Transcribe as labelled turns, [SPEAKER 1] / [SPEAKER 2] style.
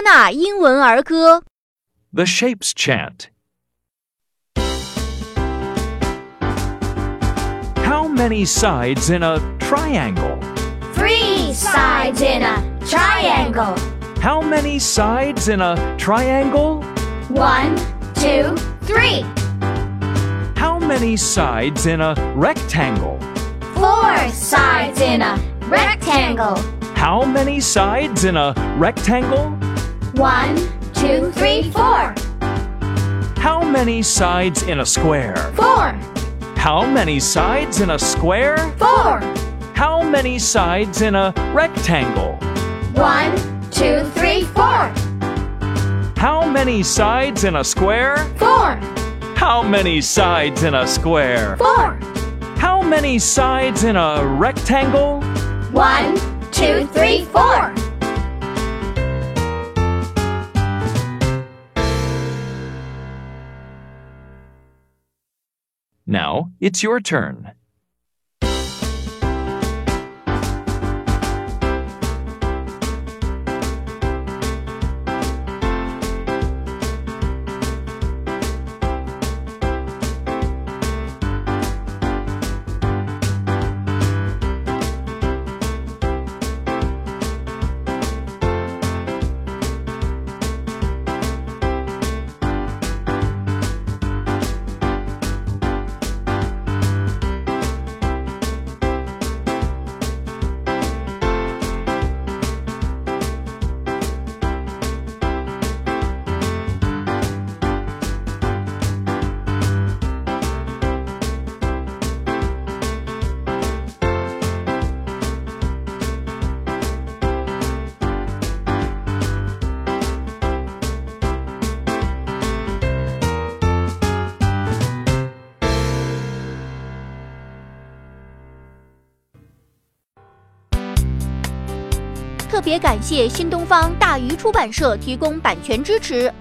[SPEAKER 1] 多纳英文儿歌
[SPEAKER 2] The Shapes Chant. How many sides in a triangle?
[SPEAKER 3] 3 sides in a triangle.
[SPEAKER 2] How many sides in a triangle?
[SPEAKER 3] 1, 2, 3.
[SPEAKER 2] How many sides in a rectangle?
[SPEAKER 3] 4 sides in a rectangle.
[SPEAKER 2] How many sides in a rectangle?
[SPEAKER 3] 1, 2, 3, 4.
[SPEAKER 2] How many sides in a square?
[SPEAKER 3] 4,
[SPEAKER 2] How many sides in a square?
[SPEAKER 3] 4.
[SPEAKER 2] How many sides in a rectangle?
[SPEAKER 3] 1, 2, 3, 4.
[SPEAKER 2] How many sides in a square?
[SPEAKER 3] 4,
[SPEAKER 2] How many sides in a square?
[SPEAKER 3] 4.
[SPEAKER 2] How many sides in a rectangle?
[SPEAKER 3] 1, 2, 3, 4.
[SPEAKER 2] Now it's your turn.
[SPEAKER 1] 特别感谢新东方大鱼出版社提供版权支持。